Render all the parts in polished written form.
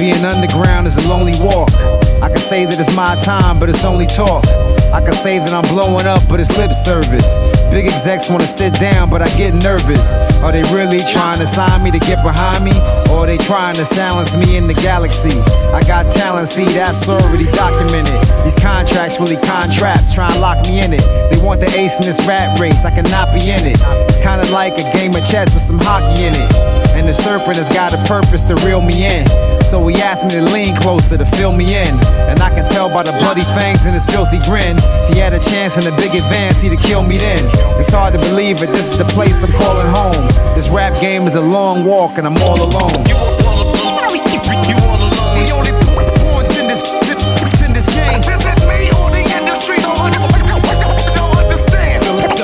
Being underground is a lonely walk. I can say that it's my time, but it's only talk. I can say that I'm blowing up, but it's lip service. Big execs wanna sit down, but I get nervous. Are they really trying to sign me to get behind me? Or are they trying to silence me in the galaxy? I got talent, see, that's already documented. These contracts really contracts, trying to lock me in it. They want the ace in this rat race, I cannot be in it. It's kinda like a game of chess with some hockey in it. And the serpent has got a purpose to reel me in. So he asked me to lean closer to fill me in. And I can tell by the bloody fangs and his filthy grin. If he had a chance in a big advance, he'd have killed me then. It's hard to believe it, this is the place I'm calling home. This rap game is a long walk and I'm all alone. You all alone. You all alone. The only pawns in this game. Is it me or the industry? Don't understand.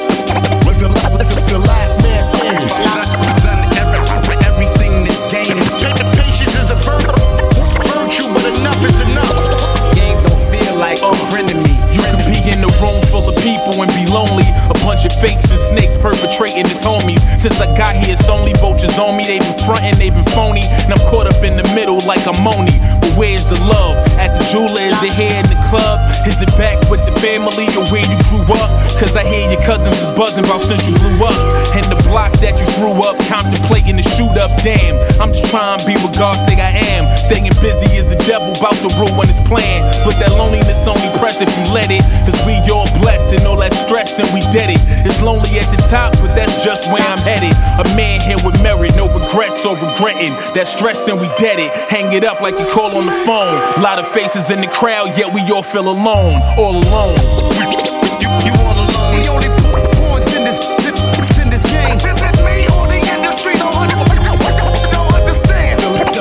The last man standing. Done everything this game. Patience is a virtue, but enough is enough. Game don't feel like a friend of me. You can be in a room full of people and be lonely. A bunch of fakes and snakes perpetrating as homies. Since I got here, it's only vultures on me. They been frontin', they been phony, and I'm caught up in the middle like I'm Moni. But where's the love? At the jeweler, is it here in the club? Is it back with the family or where you grew up? Cause I hear your cousins is buzzing about since you blew up. And the block that you threw up, contemplating the shoot up. Damn, I'm just trying to be what God say I am. Staying busy is the devil about to ruin his plan. But that loneliness only press if you let it. Cause we all blessed and all that stress and we did it. It's lonely at the top, but that's just where I'm headed. A man here with merit, no regrets or regretting. That stress and we dead it. Hang it up like you call on the phone. Lot of faces in the crowd, yet we all feel alone. All alone. You all alone. The only pawns in this game. Is it me or the industry? Don't understand.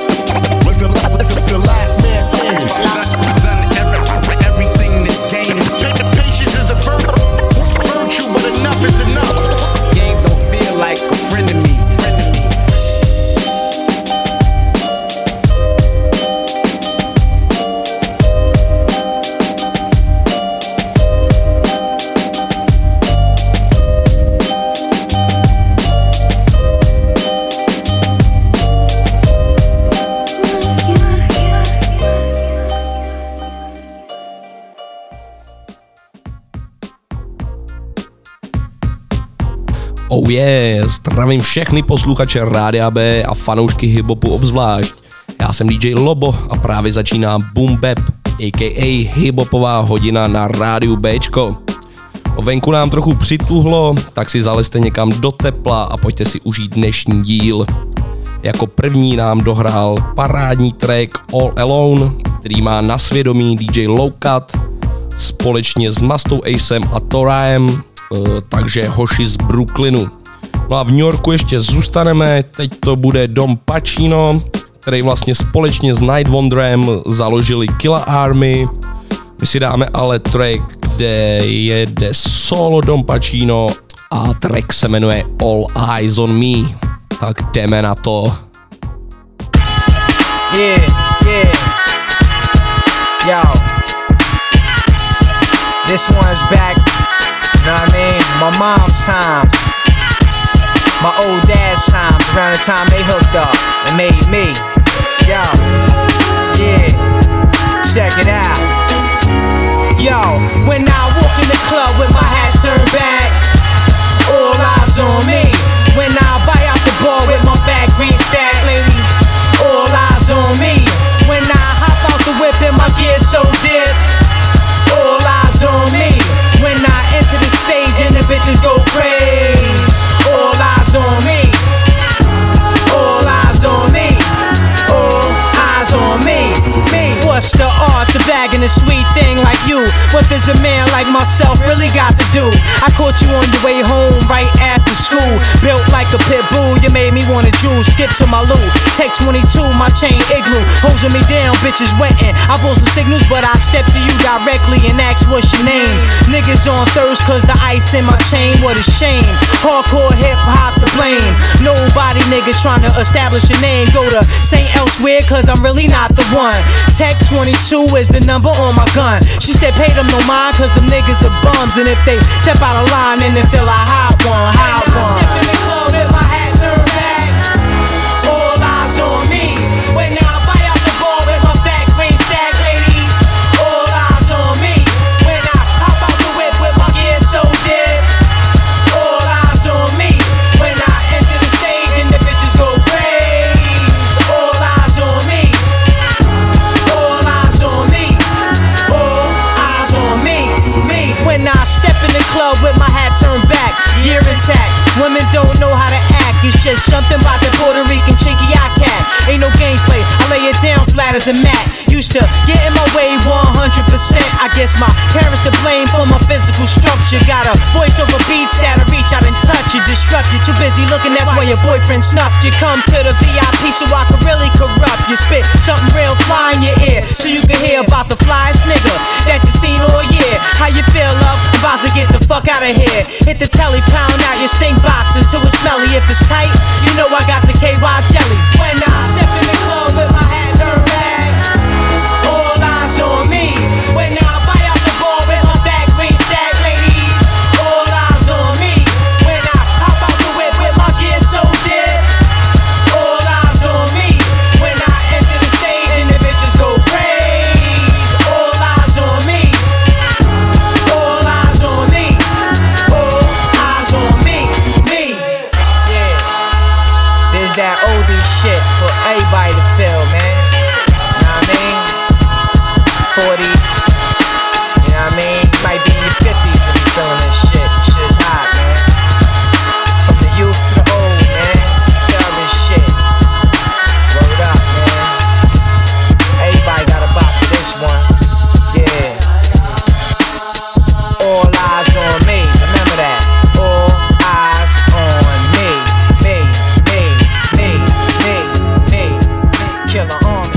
The last man standing. Done everything this game. Patience is a virtue, but enough is enough. Game don't feel like a friend of me. Oh yeah, zdravím všechny posluchače Rádia B a fanoušky hiphopu obzvlášť. Já jsem DJ Lobo a právě začíná Boom Bap, a.k.a. hiphopová hodina na rádiu Bčko. Venku nám trochu přituhlo, tak si zalezte někam do tepla a pojďte si užít dnešní díl. Jako první nám dohrál parádní track All Alone, který má na svědomí DJ Lowcut společně s Mastou Acem a Toraem, takže hoši z Brooklynu. No a v New Yorku ještě zůstaneme, teď to bude Dom Pacino, který vlastně společně s Night Wonderem založili Killa Army. My si dáme ale track, kde jede solo Dom Pacino a track se jmenuje All Eyes on Me. Tak jdeme na to. Yeah. Yo. This one's back. Know what I mean? My mom's time, my old dad's time, around the time they hooked up and made me. Yo, yeah, check it out. Yo, when I walk in the club with my hat turned back, all eyes on me. When I buy out the bar with my fat green stack, lady, all eyes on me. When I hop out the whip and my gear so dip, all eyes on me. When I enter the stage and the bitches go crazy, all eyes on me. All eyes on me. All eyes on me. What's the art, the bag and the sweet thing like you? What does a man like myself really got to do? I caught you on your way home right after school. Built like a pit bull, you made me wanna drool. Skip to my loo, take 22, my chain igloo. Hosing me down, bitches wetting. I pull some signals, but I step to you directly and ask what's your name. Niggas on thirst cause the ice in my chain, what a shame. Hardcore hip hop to blame. Nobody niggas trying to establish a name. Go to St. Elsewhere cause I'm really not the one. Tech 22 is the number on my gun. She said pay them no mind cause them niggas are bums. And if they step out of line then they feel a hot one, hot one. I step in the club with my hat turned back, all eyes on me. When I buy out the bar with Something about the Puerto Rican chinky I cat. Ain't no games played, I lay it down flat as a mat. Used to get in my way 100%. I guess my parents to blame for my physical structure. Got a voice over beats that'll reach out and touch you, disrupt you. Too busy looking, that's why your boyfriend snuffed you. Come to the VIP so I can really corrupt you. Spit something real fly in your ear so you can hear about the flyest nigga that you seen all year. How you feel, love? I'm about to get the fuck out of here. Hit the telly, pound out your stink boxes till it's smelly. If it's tight, you know I got the KY jelly. When I step in the club with my hat turned back, all eyes on me. When I buy out the ball with my fat green stack, ladies, all eyes on me. When I hop out the whip with my gear so dead, all eyes on me. When I enter the stage and the bitches go crazy, all eyes on me. All eyes on me. All eyes on me. Me. Yeah. There's that oldie shit for everybody to feel, man. Know what I mean? 40s. You know what I mean? You might be in your 50s if you feeling this shit. Shit's hot, man. From the youth to the old, man. Tell this shit. Word up, man. Everybody got a bop for this one. Yeah. All eyes on me. Remember that. All eyes on me. Me. Killer Army.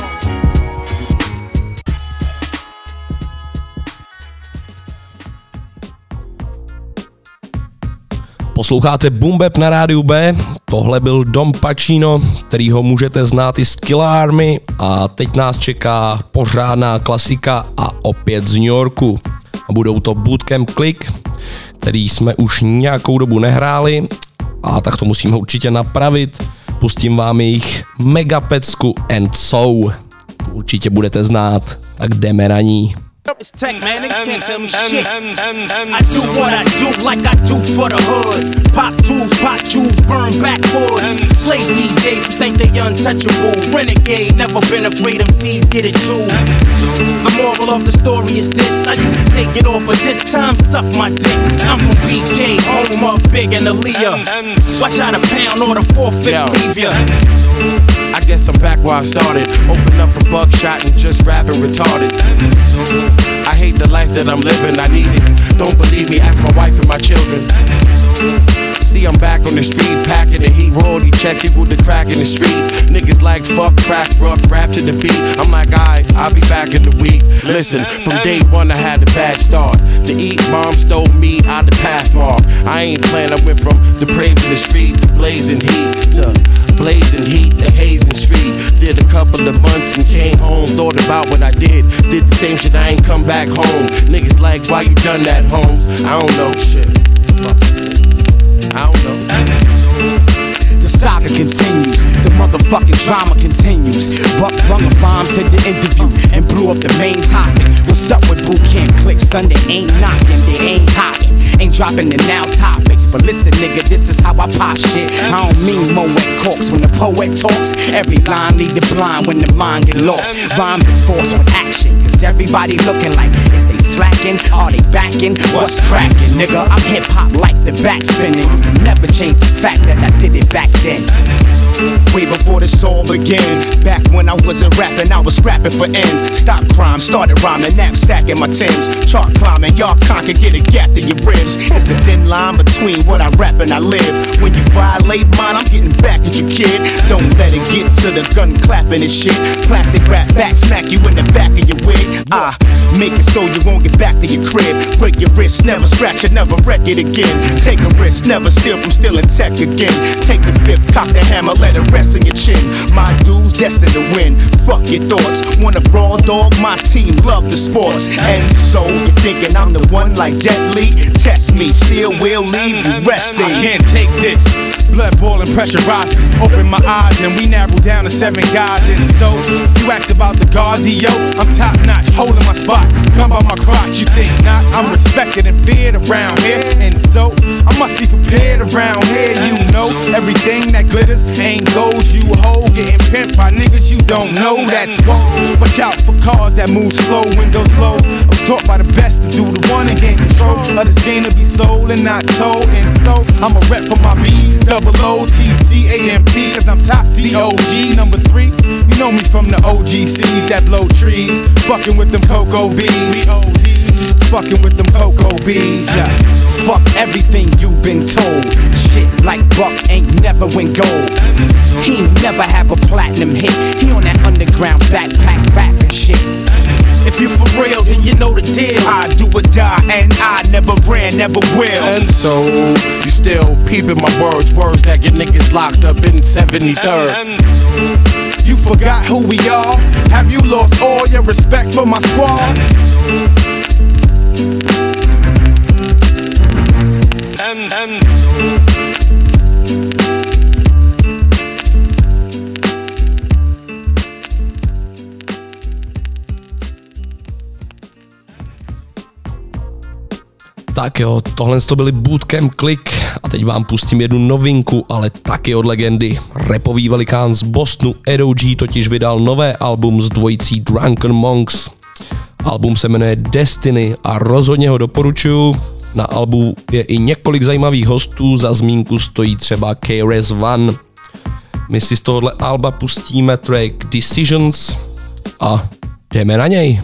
Posloucháte Boom Bap na rádiu B, tohle byl Dom Pacino, kterýho můžete znát i z Kill Army a teď nás čeká pořádná klasika a opět z New Yorku. A budou to Bootcamp Click, který jsme už nějakou dobu nehráli a tak to musíme určitě napravit. Pustím vám jejich Megapecku and So. Tu určitě budete znát, tak jdeme na ní. It's tech, man. Niggas can't tell me shit. I do what I do like I do for the hood. Pop tools, pop jewels, burn backboards. Slay DJs who think they untouchable. Renegade, never been afraid MCs get it too. The moral of the story is this. I used to say get off, but this time suck my dick. I'm from BK, home of Big and Aaliyah. Watch out a pound or the 4-5 leave ya. I guess I'm back where I started. Open up for buckshot and just rapping retarded. I hate the life that I'm living, I need it. Don't believe me, ask my wife and my children. See, I'm back on the street, packing the heat, royalty checks, equal the crack in the street. Niggas like fuck, crack, rock, rap to the beat. I'm like, I'll be back in the week. Listen, from day one I had a bad start. The eat bomb stole me out the pathmark. I ain't playing, I went from depraved in the street to blazing heat to blazing heat, the hazing street. Did a couple of months and came home. Thought about what I did the same shit, I ain't come back home. Niggas like, why you done that, Holmes? I don't know, shit. Fuck. I don't know. The saga continues, the motherfucking drama continues. Buck brung a bomb to the interview and blew up the main topic. What's up with boot camp click? Son, they ain't knocking, they ain't hiding. Ain't dropping the now topics, but listen nigga, this is how I pop shit. I don't mean Moet Corks when the poet talks. Every line lead the blind when the mind get lost. Rhymes enforced with action, cause everybody looking like, is they slacking? Are they backing? What's cracking? Nigga, I'm hip hop like the back spinning. You can never change the fact that I did it back then. Way before this all began. Back when I wasn't rapping, I was scrapping for ends. Stop crime, started rhyming, knapsack in my Timbs. Chart climbing, y'all can't get a gap to your ribs. It's a thin line between what I rap and I live. When you violate mine, I'm getting back at you, kid. Don't let it get to the gun clapping and shit. Plastic rap back, smack you in the back of your wig. Make it so you won't get back to your crib. Break your wrist, never scratch it, never wreck it again. Take a risk, never steal from stealing tech again. Take the fifth, cock the hammer, let it rest in your chin. My dudes destined to win. Fuck your thoughts. Want a brawl dog? My team love the sports. And so you're thinking I'm the one like Jet Li? Test me, still will leave you resting. I can't take this. Blood boiling, pressure rising. Open my eyes and we narrow down to 7 guys. And so you ask about the cardio. I'm top notch, holding my spot. Come by my crotch, you think not? I'm respected and feared around here. And so I must be prepared around here. You know everything that glitters ain't gold. You hoe getting pimped by niggas you don't know. That's whoa. Watch out for cars that move slow, windows low. I was taught by the best to do the one and gain control of this game to be sold and not told. And so I'm a rep for my B, double O-T-C-A-M-P, cause I'm top D-O-G. Number 3, you know me from the OGCs that blow trees. Fucking with them cocoa beans. Fucking with them cocoa beans, yeah. Fuck everything you've been told. Shit like Buck ain't never win gold. He ain't never have a platinum hit. He on that underground backpack rapping shit. If you for real, then you know the deal. I do or die, and I never ran, never will. And so, you still peeping my words that get niggas locked up in 73rd. You forgot who we are? Have you lost all your respect for my squad? Tak jo, tohle to byly Bootcamp Click a teď vám pustím jednu novinku, ale taky od legendy. Rapový velikán z Bostonu Edo G totiž vydal nové album s dvojicí Drunken Monks. Album se jmenuje Destiny a rozhodně ho doporučuju. Na albu je i několik zajímavých hostů, za zmínku stojí třeba KRS-One. My si z tohohle alba pustíme track Decisions a jdeme na něj.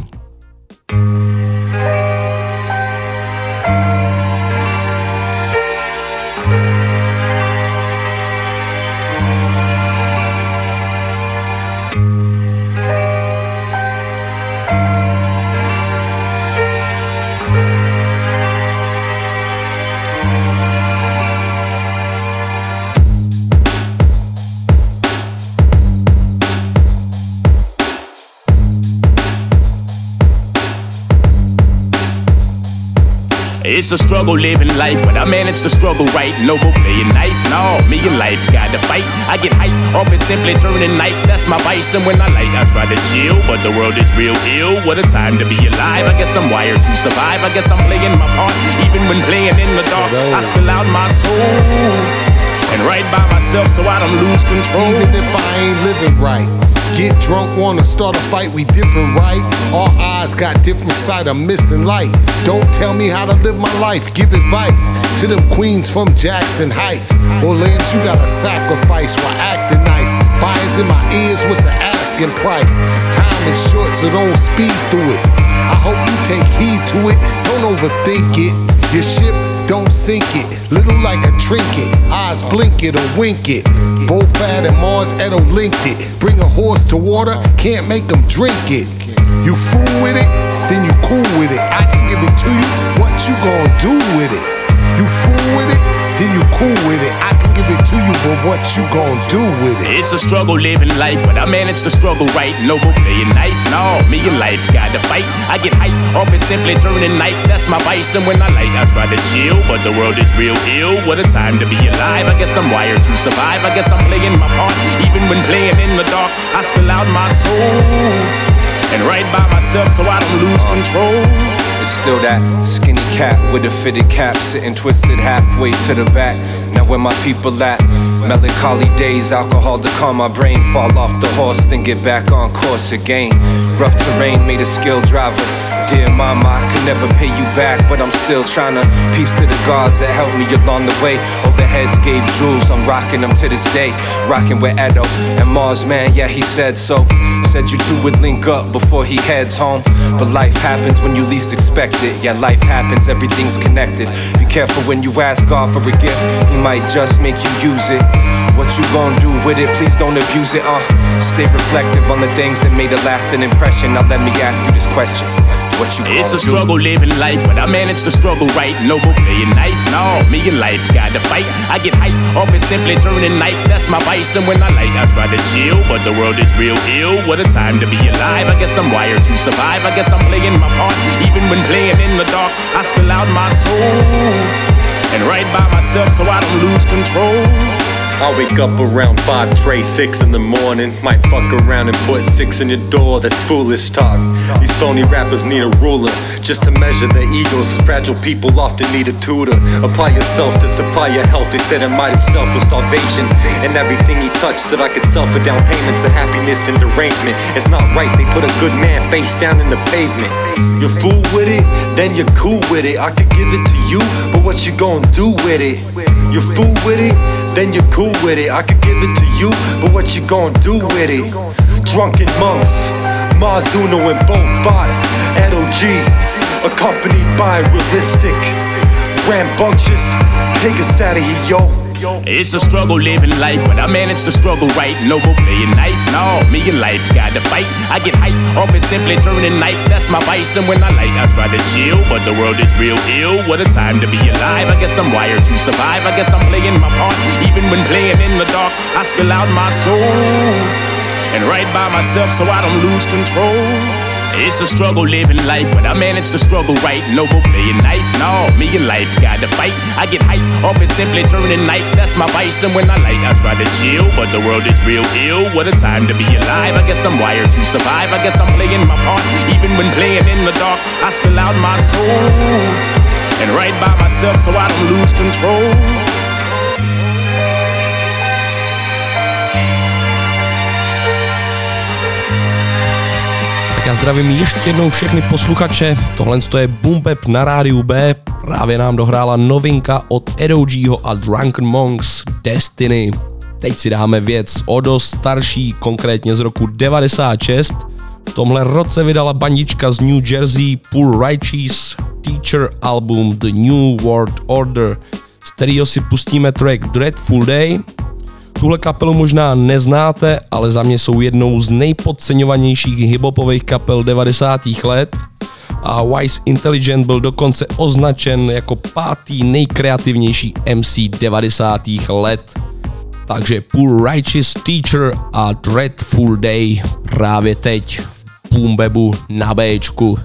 It's a struggle living life, but I manage to struggle right. No go playing nice, no, me in life gotta fight. I get hype off it simply turning night. That's my vice, and when I light, I try to chill, but the world is real ill. What a time to be alive. I guess I'm wired to survive. I guess I'm playing my part, even when playing in the dark. I spill out my soul and write by myself so I don't lose control. Even if I ain't living right, get drunk, wanna start a fight, we different, right? Our eyes got different sight, I'm missing light. Don't tell me how to live my life, give advice to them queens from Jackson Heights. Or lambs you gotta sacrifice while acting nice. Buyers in my ears, what's the asking price? Time is short, so don't speed through it. I hope you take heed to it, don't overthink it. Your ship, don't sink it, little like a trinket. Eyes blink it or wink it. Bofad and Mars Edo linked it. Bring a horse to water, can't make them drink it. You fool with it, then you cool with it. I can give it to you, what you gon' do with it? You fool with it, then you cool with it. I can give it to you, but what you gon' do with it? It's a struggle living life, but I manage to struggle right. No go playing nice, no, me in life gotta fight. I get hype off it simply turning night. That's my vice, and when I light, I try to chill, but the world is real ill. What a time to be alive. I guess I'm wired to survive. I guess I'm playing my part, even when playing in the dark. I spill out my soul and write by myself so I don't lose control. It's still that skinny cat with a fitted cap, sitting twisted halfway to the back. Now where my people at? Melancholy days, alcohol to calm my brain. Fall off the horse, then get back on course again. Rough terrain made a skilled driver. Dear mama, I could never pay you back, but I'm still trying to piece to the gods that helped me along the way. All the heads gave jewels, I'm rocking them to this day. Rocking with Edo and Mars, man, yeah, he said so. Said you two would link up before he heads home. But life happens when you least expect it. Yeah, life happens, everything's connected. Be careful when you ask God for a gift, he might just make you use it. What you gon' do with it? Please don't abuse it, Stay reflective on the things that made a lasting impression. Now let me ask you this question. What you It's a struggle living life, but I manage to struggle right. No go playing nice, no, me in life gotta fight. I get hype off it simply turning night. That's my vice, and when I light, I try to chill, but the world is real ill. What a time to be alive. I guess I'm wired to survive. I guess I'm playing my part, even when playing in the dark. I spill out my soul and write by myself so I don't lose control. I wake up around 5, Trey, 6 in the morning. Might fuck around and put 6 in your door, that's foolish talk. These phony rappers need a ruler, just to measure their egos. Fragile people often need a tutor. Apply yourself to supply your health. They said I might as fell for starvation, and everything he touched that I could sell for down payments of happiness and derangement. It's not right, they put a good man face down in the pavement. You're fool with it, then you're cool with it. I could give it to you, but what you gonna do with it? You're fool with it, then you're cool with it. I could give it to you, but what you gonna do with it? Drunken monks, Mazuno and both bot, LOG, accompanied by realistic, rambunctious, take us out of here, yo. It's a struggle living life, but I manage to struggle right. Noble playing nice, no, me and life gotta fight. I get hype off it simply turning night. That's my vice, and when I light, I try to chill. But the world is real ill. What a time to be alive. I guess I'm wired to survive. I guess I'm playing my part. Even when playing in the dark, I spill out my soul and write by myself so I don't lose control. It's a struggle living life, but I manage to struggle right. Noble playing nice, no, me and life gotta fight. I get hype off it simply turning night. That's my vice, and when I light, I try to chill. But the world is real ill. What a time to be alive. I guess I'm wired to survive. I guess I'm playing my part. Even when playing in the dark, I spill out my soul and write by myself so I don't lose control. Já zdravím ještě jednou všechny posluchače, tohle je Boom Bap na rádiu B, právě nám dohrála novinka od Erogyho a Drunken Monks, Destiny. Teď si dáme věc o dost starší, konkrétně z roku 96. V tomhle roce vydala bandička z New Jersey Poor Righteous Teacher album The New World Order, z kterého si pustíme track Dreadful Day. Tuhle kapelu možná neznáte, ale za mě jsou jednou z nejpodceňovanějších hiphopových kapel 90. let a Wise Intelligent byl dokonce označen jako 5. nejkreativnější MC 90. let. Takže Poor Righteous Teacher a Dreadful Day právě teď v Boom Babu na Bčku.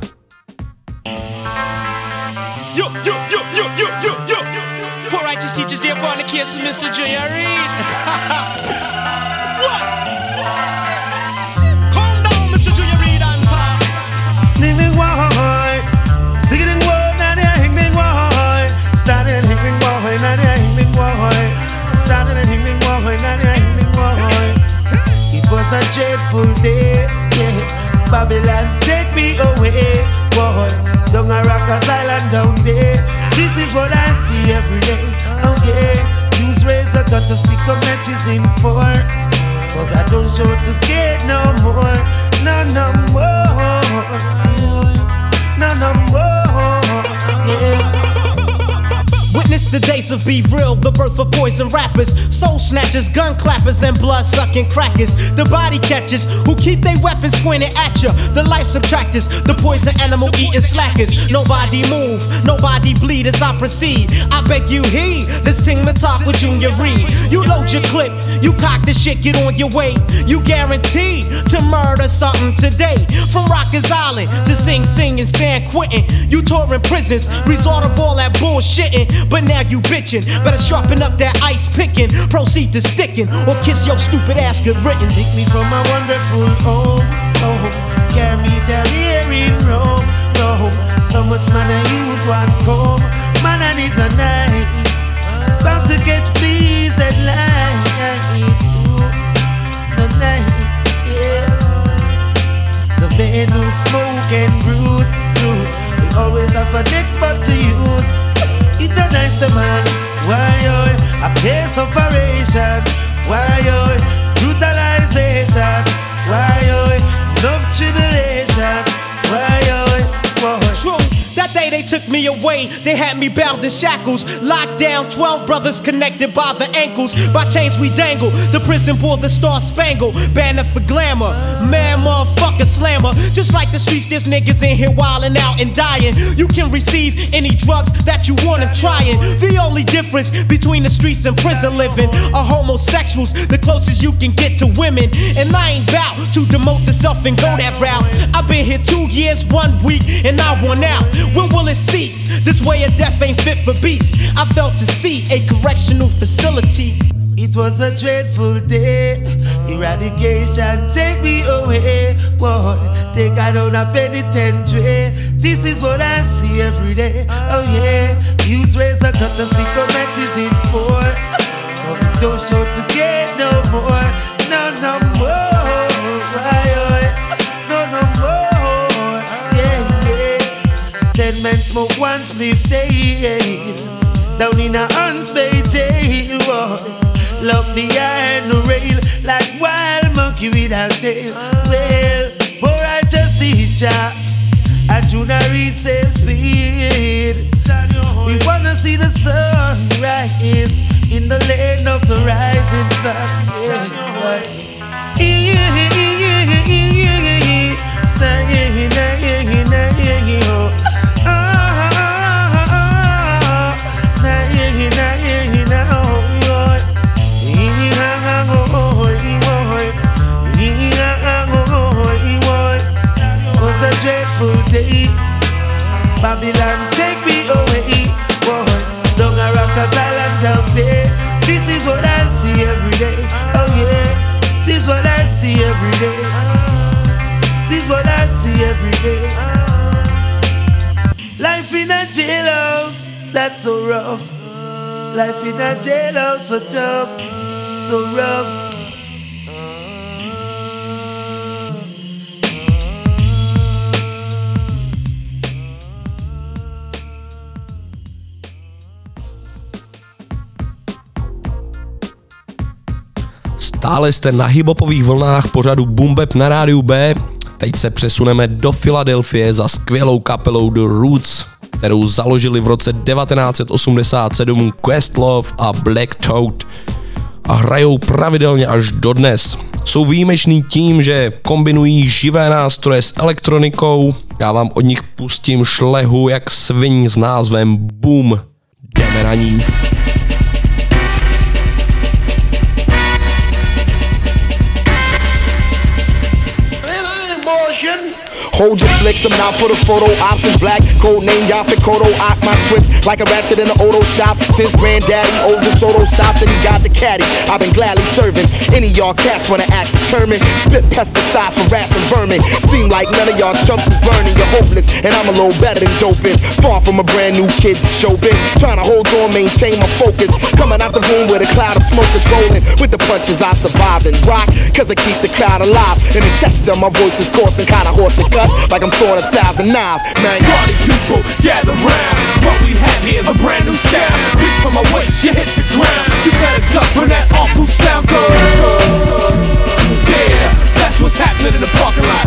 Teachers, they're born the kids from Mr. J. Reed. What? Calm down, Mr. J. Reed, on top. Living why? Stick it in why? Now they're hanging why? Started and hanging why? Now they're hanging why? Started and hanging why? Now they're hanging why? It was a dreadful day, yeah. Babylon, take me away, boy. Down a Rockers Island down there. This is what I see every day. Oh yeah, use razor got to stick up matches in for. Cause I don't show to get no more. No more. No more. Yeah. Witness the days of Be Real, the birth of poison rappers, soul snatchers, gun clappers, and blood sucking crackers. The body catchers who keep their weapons pointed at you. The life subtractors, the poison animal eating slackers. Nobody move, nobody bleed as I proceed. I beg you heed this ting talk with Junior Reed. You load your clip, you cock the shit, get on your way. You guaranteed to murder something today. From Rockers Island to Sing Sing and San Quentin, you touring prisons, resort of all that bullshitting. But now you bitchin', better sharpen up that ice picking. Proceed to sticking, or kiss your stupid ass good written. Take me from my wonderful home, home. Carry me down here in Rome, Rome. So much man I use one comb. Man I need the knife. Bound to get fleas and lies. Ooh, the knife, yeah. The man who smoke and bruise, bruise. Will always have an expert to use. It's not nice to man. Why oh, a place of operation. Why oh, brutalization. Why oh, love tribulation. Why oh, whoa. True. That day they took me away, they had me bound in shackles. Locked down, 12 brothers connected by the ankles. By chains we dangle, the prison bore the star spangle. Banner for glamour, man motherfucker slammer. Just like the streets, there's niggas in here wildin' out and dying. You can receive any drugs that you want and trying. The only difference between the streets and prison living are homosexuals, the closest you can get to women. And I ain't bout to demote the self and go that route. I've been here 2 years, 1 week, and I want out. When will it cease? This way of death ain't fit for beasts. I felt to see a correctional facility. It was a dreadful day. Eradication, take me away. Boy, take I down a penitentiary. This is what I see every day. Oh yeah, use razor cut the stick of matches in four. Don't show to get no more. No more. No more. Yeah. 10 men smoke one spliff day. Down in a Hunts Bay jail. lock behind the rail like wild monkey without tail. Well, more righteous teacher, I do not read same speed. We wanna see the sun rise in the land of the rising sun. Was a dreadful day. Babylon, take me away. Down a Rockers Island down there. This is what I see every day. Oh yeah, this is what I see every day. This is what I see every day. Life in a jailhouse, that's so rough. Life in a jailhouse, so tough, so rough. Stále jste na hiphopových vlnách pořadu Boom Bap na rádiu B. Teď se přesuneme do Filadelfie za skvělou kapelou The Roots, kterou založili v roce 1987 Questlove a Black Toad a hrajou pravidelně až dodnes. Jsou výjimeční tím, že kombinují živé nástroje s elektronikou. Já vám od nich pustím šlehu jak sviň s názvem Boom. Jdeme na ní. Hold your flicks, I'm out for the photo ops. Is black, code name Yaphet Kodo. Ock my twist like a ratchet in the auto shop. Since granddaddy old DeSoto stopped and he got the caddy, I've been gladly serving any y'all cats wanna act determined. Spit pesticides for rats and vermin. Seem like none of y'all chumps is learning. You're hopeless, and I'm a little better than dope is. Far from a brand new kid to showbiz. Trying to hold on, maintain my focus. Coming out the room with a cloud of smoke that's rolling. With the punches I survive and rock, cause I keep the crowd alive. And the texture of my voice is coarse and kinda hoarse and cut, like I'm throwing 1,000 knives, man. Party people, gather round. What we have here is a brand new sound. Reach for my waist, you hit the ground. You better duck when that awful sound goes. Yeah, that's what's happening in the parking lot.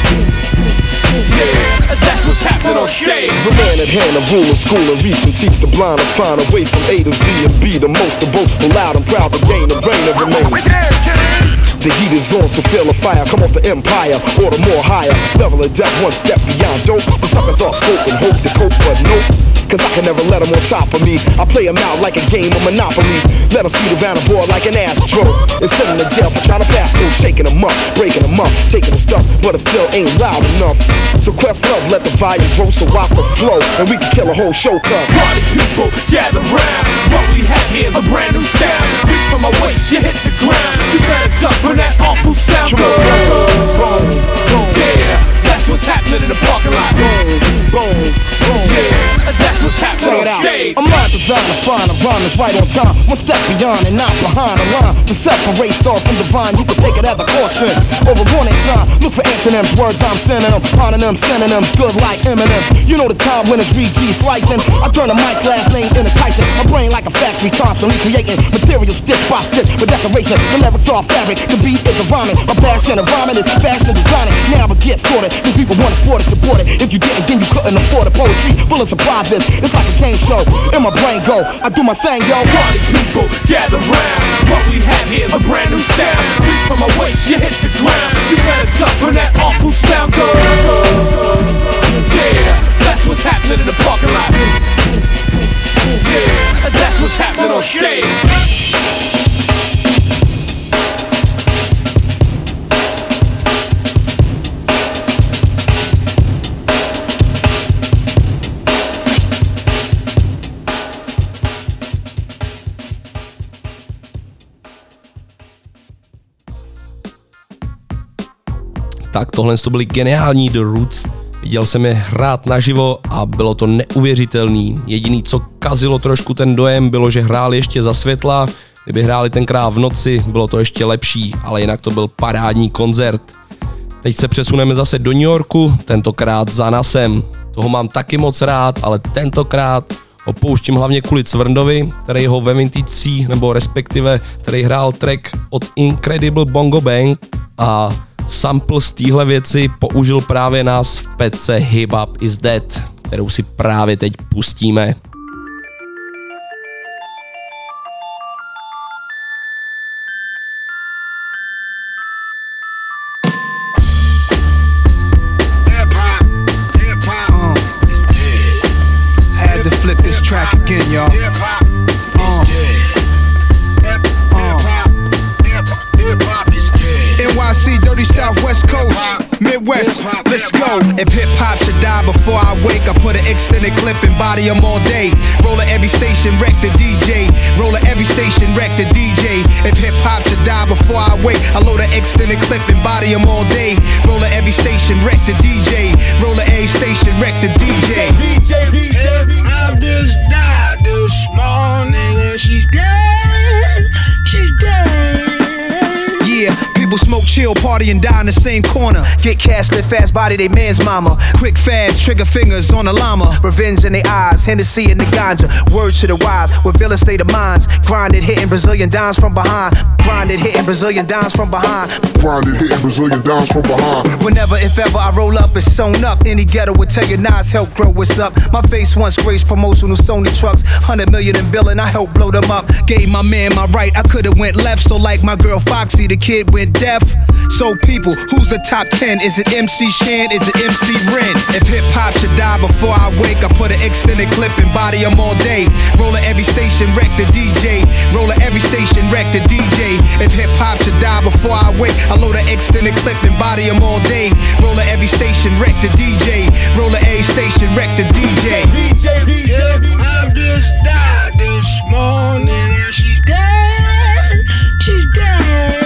Yeah, that's what's happening on stage. The man at hand, a rule of school and reach and teach the blind to find a way from A to Z and be the most of both. Loud and proud to gain the reign and remain. The heat is on, so feel the fire. Come off the empire, order more higher. Level of depth, one step beyond dope. The suckers all scope and hope to cope, but nope. Cause I can never let them on top of me. I play them out like a game of Monopoly. Let them speed around the board like an Astro. And send them to jail for trying to pass go. Shaking them up, breaking them up, taking them stuff, but it still ain't loud enough. So Questlove, let the volume grow so I can flow, and we can kill a whole show. Cause party people, gather round. What we have here is a brand new sound. Reach for my waist, you hit the ground. You better duck when that awful sound goes. Yeah, that's what's happening in the parking lot. Yeah, that's what's happening on stage. I'm not designed to find a rhyme that's right on time. One step beyond and not behind the line. To separate star from divine, you can take it as a caution or a warning sign. Look for antonyms, words I'm sending them, hononyms, synonyms, good like Eminem's. You know the time when it's Reed G slicing. I turn the mic's last name into Tyson. My brain like a factory, constantly creating material stitch by stitch for decoration. The lyrics are fabric, the beat is a rhyming. My passion of rhyming is fashion designing. Now it gets sorted, cause people want to sport it, support it. If you didn't, then you couldn't afford it. Poetry full of surprises, it's like a game show. In my brain go, I do my thing, yo. Party people, gather round. What we have here is a brand new sound. Reach for my waist, you hit the ground. You better duck when that awful sound goes. Yeah, that's what's happening in the parking lot. Yeah, that's what's happening on stage. Tak tohle to byly geniální The Roots. Viděl jsem je hrát naživo a bylo to neuvěřitelný. Jediný, co kazilo trošku ten dojem, bylo, že hráli ještě za světla. Kdyby hráli tenkrát v noci, bylo to ještě lepší, ale jinak to byl parádní koncert. Teď se přesuneme zase do New Yorku, tentokrát za Nasem. Toho mám taky moc rád, ale tentokrát Opouštím hlavně kvůli Cvrndovi, který ho ve Vintage, nebo respektive, který hrál track od Incredible Bongo Bang a sample z téhle věci použil právě nás v pece Hip Hop Is Dead, kterou si právě teď pustíme. Had to flip this track again, y'all. NYC, dirty Southwest Coast, Midwest, let's go. If hip-hop should die before I wake, I put an extended clip and body them all day. Roll at every station, wreck the DJ. Roll at every station, wreck the DJ. If hip-hop should die before I wake, I load an extended clip and body them all day. Roll at every station, wreck the DJ. Roll at every station, wreck the DJ. I just died this morning and she's dead. She's dead. Yeah, people smoke, chill, party, and die in the same corner. Get cash, live fast, body they man's mama. Quick, fast, trigger fingers on the llama. Revenge in their eyes, Hennessy in the ganja. Word to the wise, with villain state of minds. Grinded, hitting Brazilian dimes from behind. Grinded, hitting Brazilian dimes from behind. Grinded, hitting Brazilian dimes from behind. Whenever, if ever, I roll up, it's sewn up. Any ghetto would tell you Nas help grow what's up. My face once graced promotional Sony trucks. 100 million in billing, I helped blow them up. Gave my man my right, I could've went left. So like my girl Foxy, the kid went deaf. So people, who's the top 10? Is it MC Shan? Is it MC Ren? If hip-hop should die before I wake, I put an extended clip and body them all day. Roll at every station, wreck the DJ. Roll at every station, wreck the DJ. If hip-hop should die before I wake, I load an extended clip and body them all day. Roll at every station, wreck the DJ. Roll at every station, wreck the DJ. I just died this morning and she's dead. She's dead.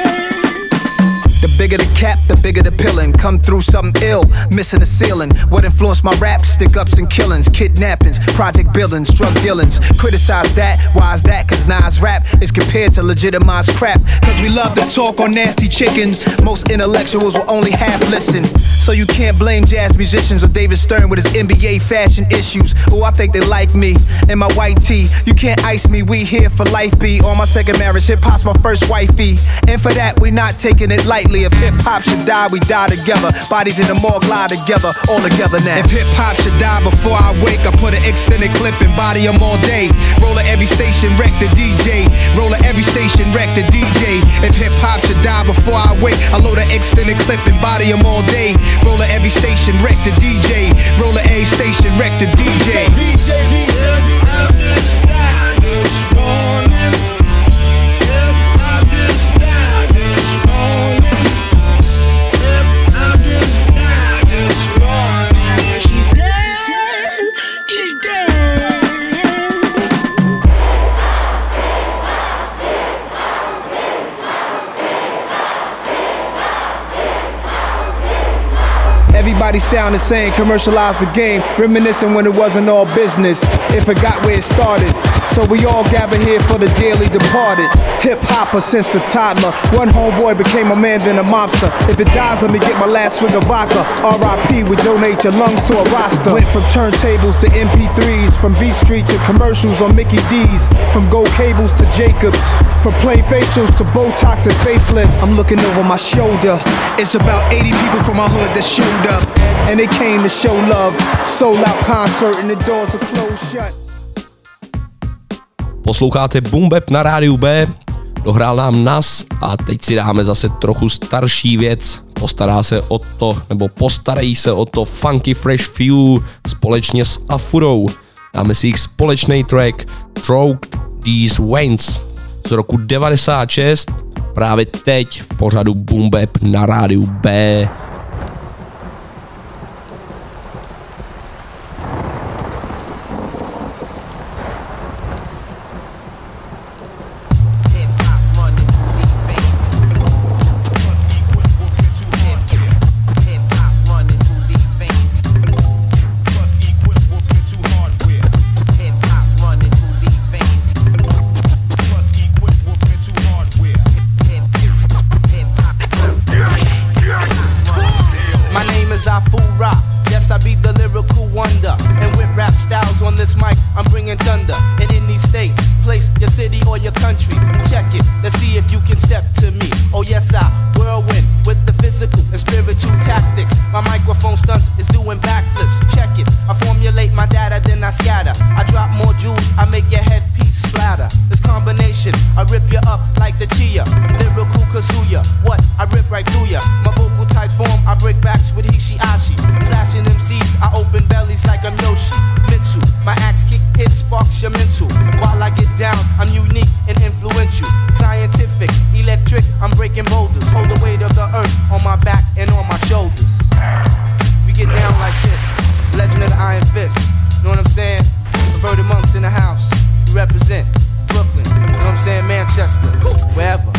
The bigger the cap, the bigger the pillin'. Come through something ill, missing the ceiling. What influenced my rap? Stick-ups and killings, kidnappings, project billings, drug dealings. Criticize that, why is that? Cause Nas rap is compared to legitimized crap. Cause we love to talk on nasty chickens. Most intellectuals will only half listen. So you can't blame jazz musicians or David Stern with his NBA fashion issues. Oh, I think they like me and my white tee. You can't ice me, we here for life, B. On my second marriage, hip-hop's my first wifey. And for that, we not taking it lightly. If hip-hop should die, we die together. Bodies in the morgue lie together, all together now. If hip-hop should die before I wake, I put an extended clip and body them all day. Roll at every station, wreck the DJ. Roll at every station, wreck the DJ. If hip-hop should die before I wake, I load an extended clip and body them all day. Roll at every station, wreck the DJ. Roll at every station, wreck the DJ. Everybody sound the same, commercialize the game, reminiscing when it wasn't all business. It forgot where it started, so we all gather here for the dearly departed. Hip-hopper since a toddler, one homeboy became a man then a mobster. If it dies, let me get my last swig of vodka. R.I.P. we donate your lungs to a roster. Went from turntables to MP3s, from B Street to commercials on Mickey D's, from gold cables to Jacobs, from plain facials to Botox and facelifts. I'm looking over my shoulder, it's about 80 people from my hood that showed up, and they came to show love. Sold out concert and the doors are closed shut. Posloucháte Boom Bap na rádiu B, dohrál nám Nas a teď si dáme zase trochu starší věc. Postarají se o to Funky Fresh Few společně s Afurou. Dáme si jich společný track Stroke These Veins z roku 96, právě teď v pořadu Boom Bap na rádiu B. wonder. And with rap styles on this mic, I'm bringing thunder. In any state, place, your city or your country. Check it, let's see if you can step to me. Oh yes, I whirlwind with the physical and spiritual tactics. My microphone stunts is doing backflips. Check it, I formulate my data, then I scatter. I drop more jewels, I make your headpiece splatter. This combination, I rip you up like the Chia. Lyrical Kazuya, what? I rip right through ya. My vocal type form, I break backs with Hishiashi. Slashing MCs, I open bellies like I'm Yoshi. Mitsu, my axe kick hit sparks your mental. While I get down, I'm unique and influential. Scientific, electric, I'm breaking boulders. Hold the weight of the earth on my back and on my shoulders. We get down like this, legend of the Iron Fist. Know what I'm saying? Perverted monks in the house. We represent Brooklyn, you know what I'm saying? Manchester, wherever.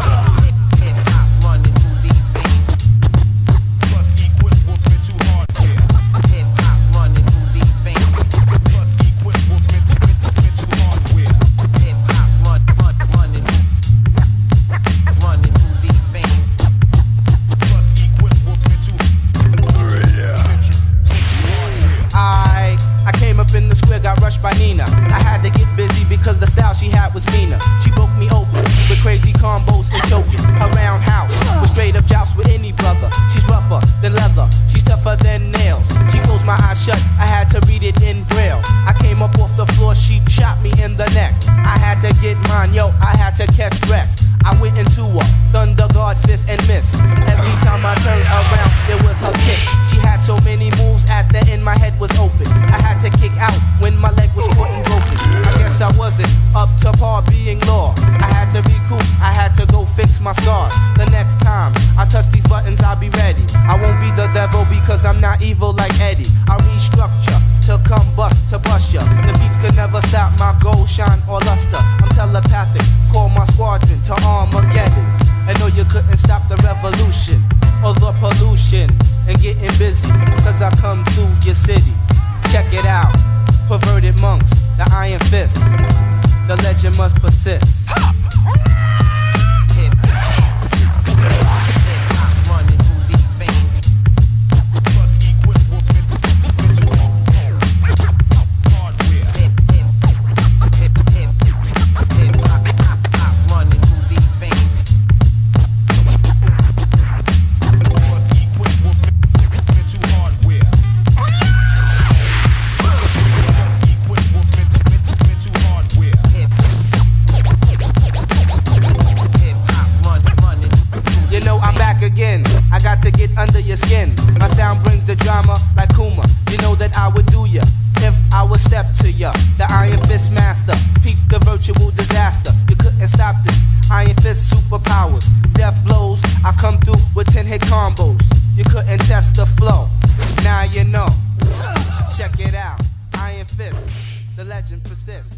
In the square, got rushed by Nina. I had to get busy because the style she had was meaner. She broke me open with crazy combos and choking. Her roundhouse was straight up joust with any brother. She's rougher than leather, she's tougher than nails. She closed my eyes shut, I had to read it in braille. I came up off the floor, she shot me in the neck. I had to get mine, yo, I had to catch wreck. I went into a thunder guard fist and miss. Every time I turned around, there was her kick. She had so many moves at the end, my head was open. I had to kick out when my leg was caught and broken. I guess I wasn't up to par being law. I had to recoup, I had to go fix my scars. The next time I touch these buttons, I'll be ready. I won't be the devil because I'm not evil like Eddie. I restructure to come bust to bust ya. The beats could never stop my gold shine or luster. I'm telepathic, call my squadron to Armageddon. I know you couldn't stop the revolution or the pollution and getting busy, cause I come through your city. Check it out, perverted monks, the Iron Fist. The legend must persist. Under your skin, my sound brings the drama like Kuma. You know that I would do ya if I would step to ya. The Iron Fist master, peep the virtual disaster. You couldn't stop this Iron Fist superpowers. Death blows, I come through with 10-hit combos. You couldn't test the flow, now you know. Check it out, Iron Fist, the legend persists.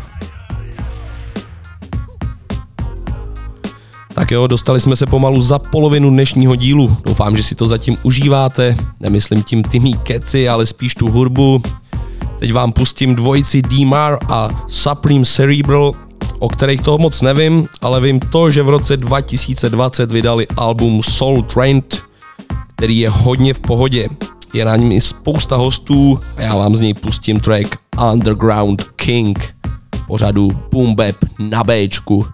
Tak jo, dostali jsme se pomalu za polovinu dnešního dílu. Doufám, že si to zatím užíváte. Nemyslím tím ty mý keci, ale spíš tu hudbu. Teď vám pustím dvojici D-Mar a Supreme Cerebral, o kterých toho moc nevím, ale vím to, že v roce 2020 vydali album Soul Trained, který je hodně v pohodě. Je na něm i spousta hostů a já vám z něj pustím track Underground King pořadu Boom Bap na Bčku.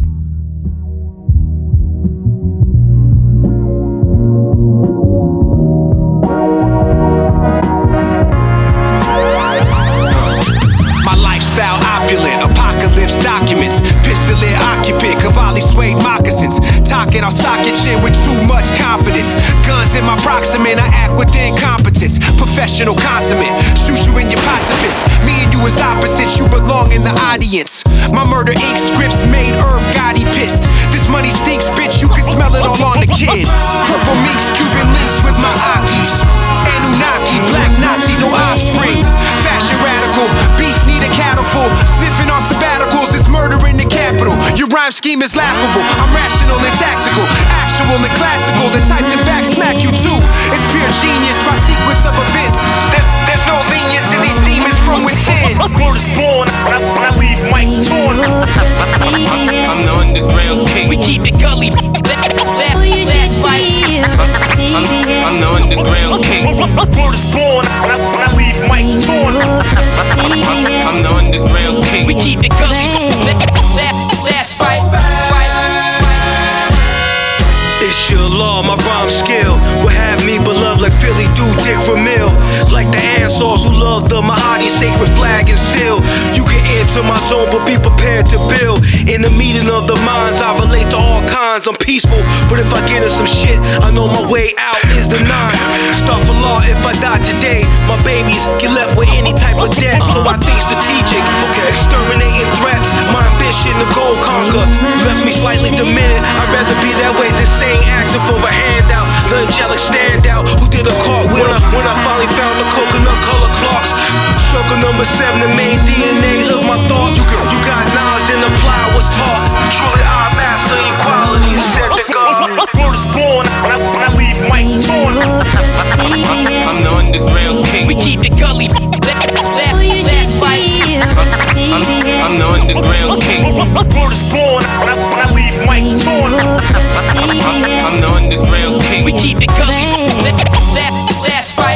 Apocalypse documents, pistolier occupant, Cavalli suede moccasins, talking our socket chin with too much confidence. Guns in my proximate, I act with incompetence. Professional consummate, shoot you in your potipus. Me and you is opposites, you belong in the audience. My murder ink scripts made Irv Gotti pissed. This money stinks, bitch, you can smell it all on the kid. Purple minks, Cuban links with my Akis. Anunnaki, black Nazi, no offspring. Fashion radical, beef need a cattle full. Sniffing on sabbaticals, it's murder in the capital. Your rhyme scheme is laughable. I'm rational and tactical, actual and classical. The type to back smack you too. It's pure genius, my sequence of events. There's no lenience in these demons from within. Word is born, when I leave mics torn. I'm the underground king. We keep it gully. That's right. I'm the underground king. Word is born, when I leave leave mics torn. I'm the underground king. We keep it gully. Last fight. It's your law, my rhyme skill will have me beloved like Philly do Dick Vermeil. Like the Ansars who love the Mahdi sacred flag and seal. You can enter my zone, but be prepared to build. In the meeting of the minds, I relate to all kinds. I'm peaceful, but if I get in some shit, I know my way out is the nine. Start for law if I die today. My babies get left with any type of debt, so I think strategic. Exterminating threats, my ambition to go conquer left me slightly demented. I'd rather be that way than saying asking for a handout. The angelic standout who did a cartwheel when I finally found the coconut color clocks. Circle number 7, the main DNA of my thoughts. You got knowledge, then apply what's taught. Truly I master equality, said the God. Word is born when I leave mics torn. I'm the underground king. We keep it gully. Last fight. I'm the underground king. Word is born when I leave mics torn. I'm the underground king. We keep it gully. Last fight.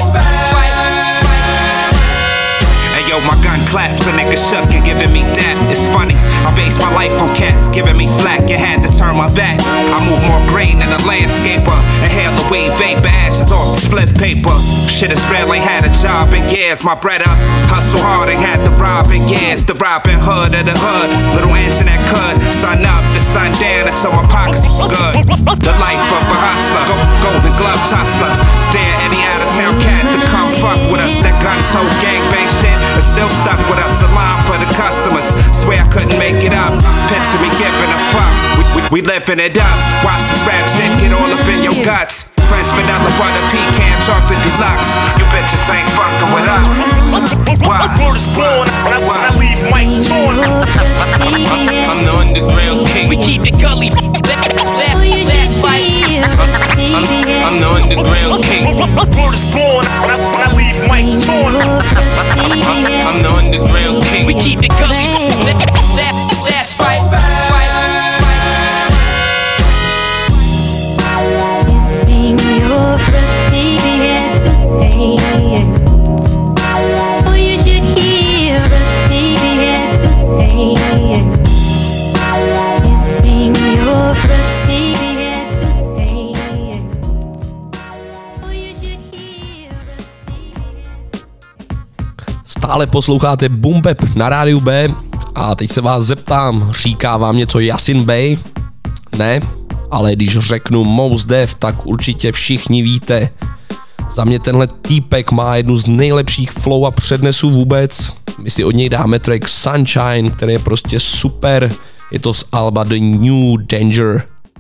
Hey yo, my gun claps, a nigga shook and giving me that. It's funny, I base my life on cats giving me flack. You had to turn my back. I move more grain than a landscaper. Inhale away vapor, ashes off the split paper. Shit is real, ain't had a job in years. My bread up, hustle hard, ain't had to rob in years. The Robin Hood of the hood, little engine that could. Sun up, the sun down until my pockets was good. The life of a hustler, golden glove tussler. Dare any out of town cat to come fuck with us. That gun toe gangbang shit is still stuck with us. A line for the customers, swear I couldn't make it up. Picture me giving a fuck, we living it up. Watch this rap shit get all up in your guts. French vanilla butter pecan chocolate deluxe. You bitches ain't fucking with us. Why? Word is born when I leave mics torn. I'm the underground king. We keep it gully. Last fight. I'm the underground king. Word is born when I leave mics torn. I'm the underground king. We keep it gully. Last fight. Stále posloucháte Boom Bap na rádiu B a teď se vás zeptám, říká vám něco Yasin Bey? Ne, ale když řeknu Mos Def, tak určitě všichni víte. Za mě tenhle týpek má jednu z nejlepších flow a přednesů vůbec. My si od něj dáme track Sunshine, který je prostě super. Je to z alba The New Danger.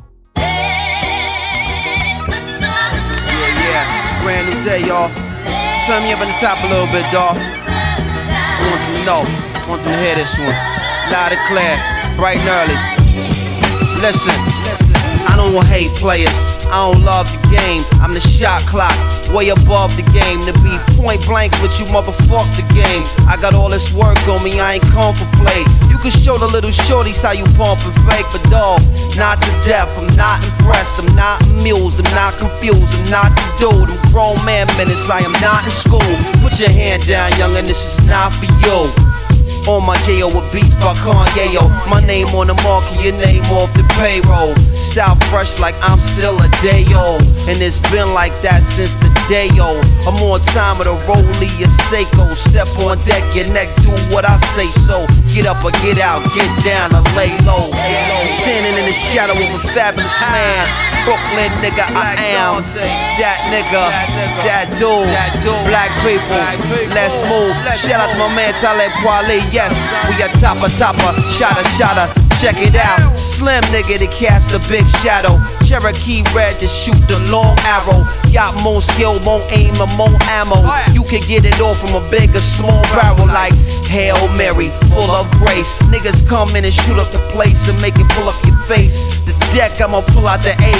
Brand new day, y'all. Turn me up on the top a little bit, dawg. I want them to know, I want them to hear this one. Loud and clear, bright and early. Listen, I don't hate players, I don't love the game. I'm the shot clock, way above the game. To be point blank with you, motherfuck the game. I got all this work on me, I ain't come for play. You can show the little shorties how you pump and fake, but dawg, not to death. I'm not impressed, I'm not amused, I'm not confused, I'm not the dude. I'm grown man minutes, I am not in school. Put your hand down, youngin', this is not for you. On my J.O. with beats by Kanye, yo. My name on the market, your name off the payroll. Style fresh like I'm still a day old. And it's been like that since the day old. I'm on time with a rollie, a Seiko. Step on deck, your neck, do what I say so. Get up or get out, get down or lay low. Standing in the shadow of a fabulous man. Brooklyn nigga, I am that nigga, that dude. Black people, let's move. Shout out to my man Talib Kweli. Yes, we a topper, shotter. Check it out, slim nigga to cast a big shadow. Cherokee red to shoot the long arrow. Got more skill, more aim, and more ammo. You can get it all from a big or small barrel like Hail Mary, full of grace. Niggas come in and shoot up the place and make it pull up your face. The deck, I'ma pull out the ace. From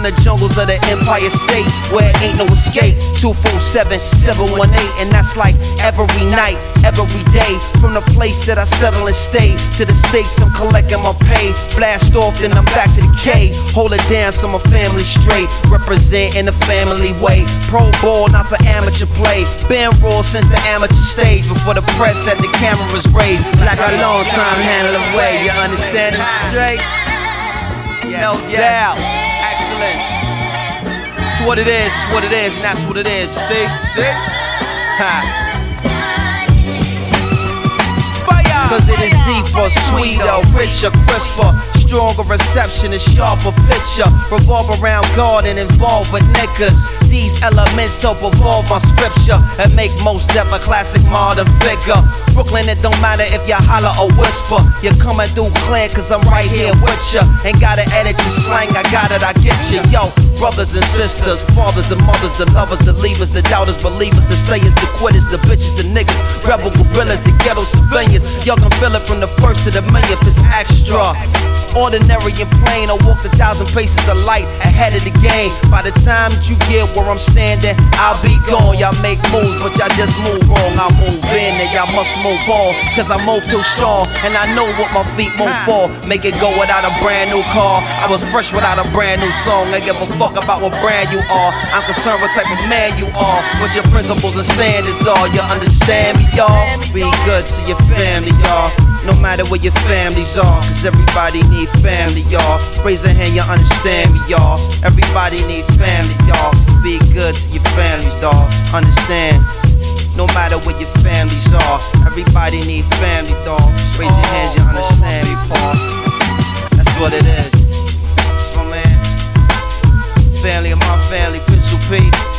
from the jungles of the Empire State, where ain't no escape. 247-718, and that's like every night, every day. From the place that I settle and stay to the states I'm collecting my pay. Blast off, then I'm back to the K. Hold it down so my family straight. Represent in the family way. Pro ball, not for amateur play. Been raw since the amateur stage. Before the press had the cameras raised. Like a long time handle away. You understand it straight? No doubt. Excellence. It's what it is, it's what it is, and that's what it is. See? Ha. Cause it is deeper, sweeter, richer, crisper, stronger reception, a sharper picture. Revolve around God and involve with niggas. These elements help evolve my scripture and make most deaf a classic modern figure. Brooklyn, it don't matter if you holler or whisper. You're coming through clear cause I'm right here with ya. Ain't gotta edit your slang, I got it, I get ya. Yo, brothers and sisters, fathers and mothers, the lovers, the leavers, the doubters, believers, the stayers, the quitters, the bitches, the niggas, rebel gorillas, the ghetto civilians. Y'all can feel it from the first to the millionth, it's extra. Ordinary and plain, I walk 1,000 paces of light ahead of the game. By the time that you get where I'm standing, I'll be gone. Y'all make moves, but y'all just move wrong. I move in and y'all must move on. Cause I move too strong, and I know what my feet move for. Make it go without a brand new car. I was fresh without a brand new song. I give a fuck about what brand you are. I'm concerned what type of man you are. What your principles and standards are. You understand me, y'all? Be good to your family, y'all. No matter where your families are, cause everybody need family, y'all. Raise a hand, you understand me, y'all. Everybody need family, y'all. Be good to your families, dawg. Understand. No matter where your families are, everybody need family, dawg. Raise your hands, you understand me, Paul. That's what it is. It's my man. Family of my family, Pencil P.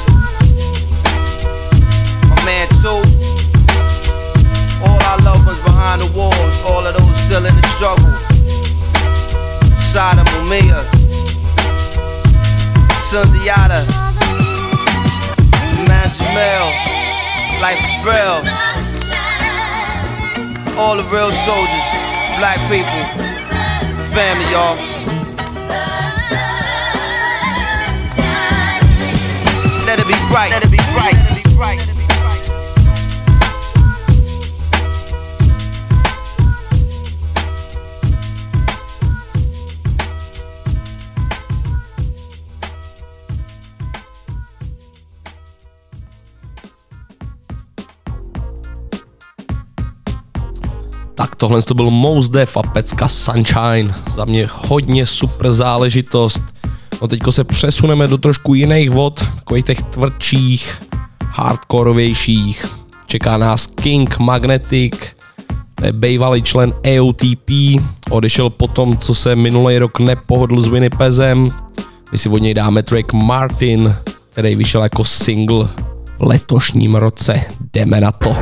My man, too. All our loved ones behind the walls, all of those still in the struggle. Sada Mumia, Sundiata, Man Jamel, Life is real. All the real soldiers, black people, family, y'all. Let it be bright, let it be bright, let it be bright. Tak tohle to byl Mos Def a pecka Sunshine. Za mě hodně super záležitost. No teďko se přesuneme do trošku jiných vod, takových těch tvrdších, hardkorovějších. Čeká nás King Magnetic, to je bývalý člen AOTP, odešel po tom, co se minulý rok nepohodl s Winnipegem. My si od něj dáme track Martin, který vyšel jako single v letošním roce. Jdeme na to.